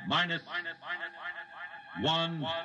minus 1.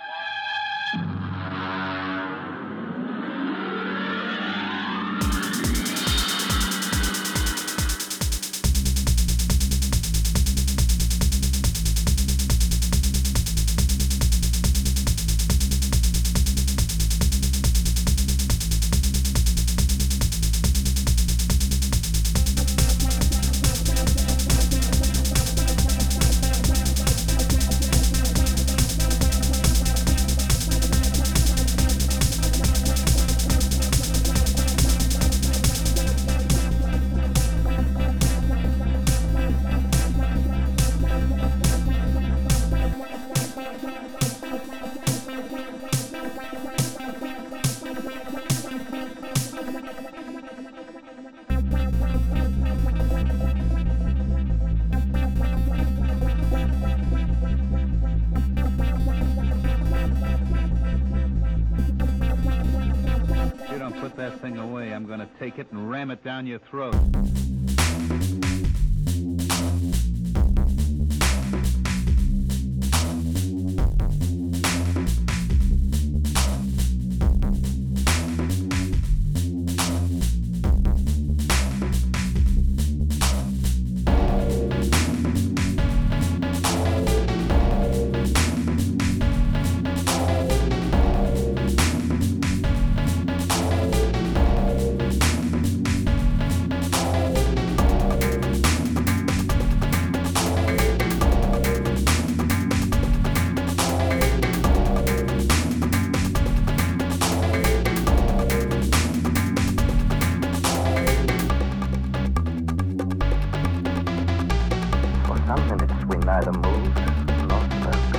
Put that thing away. I'm going to take it and ram it down your throat. Neither moved nor spoke.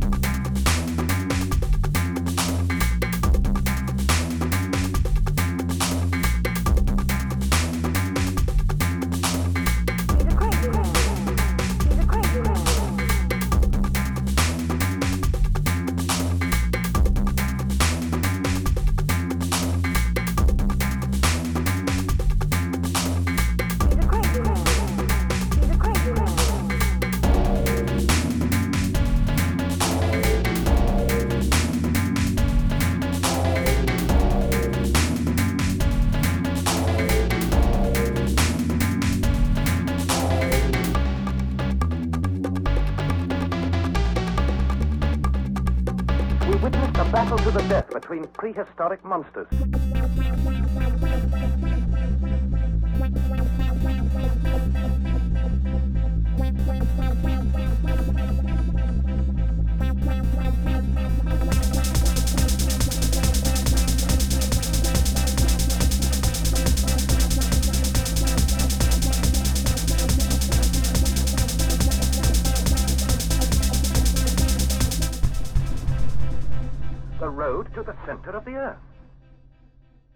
He's a crazy man. We witnessed a battle to the death between prehistoric monsters. The road to the center of the Earth.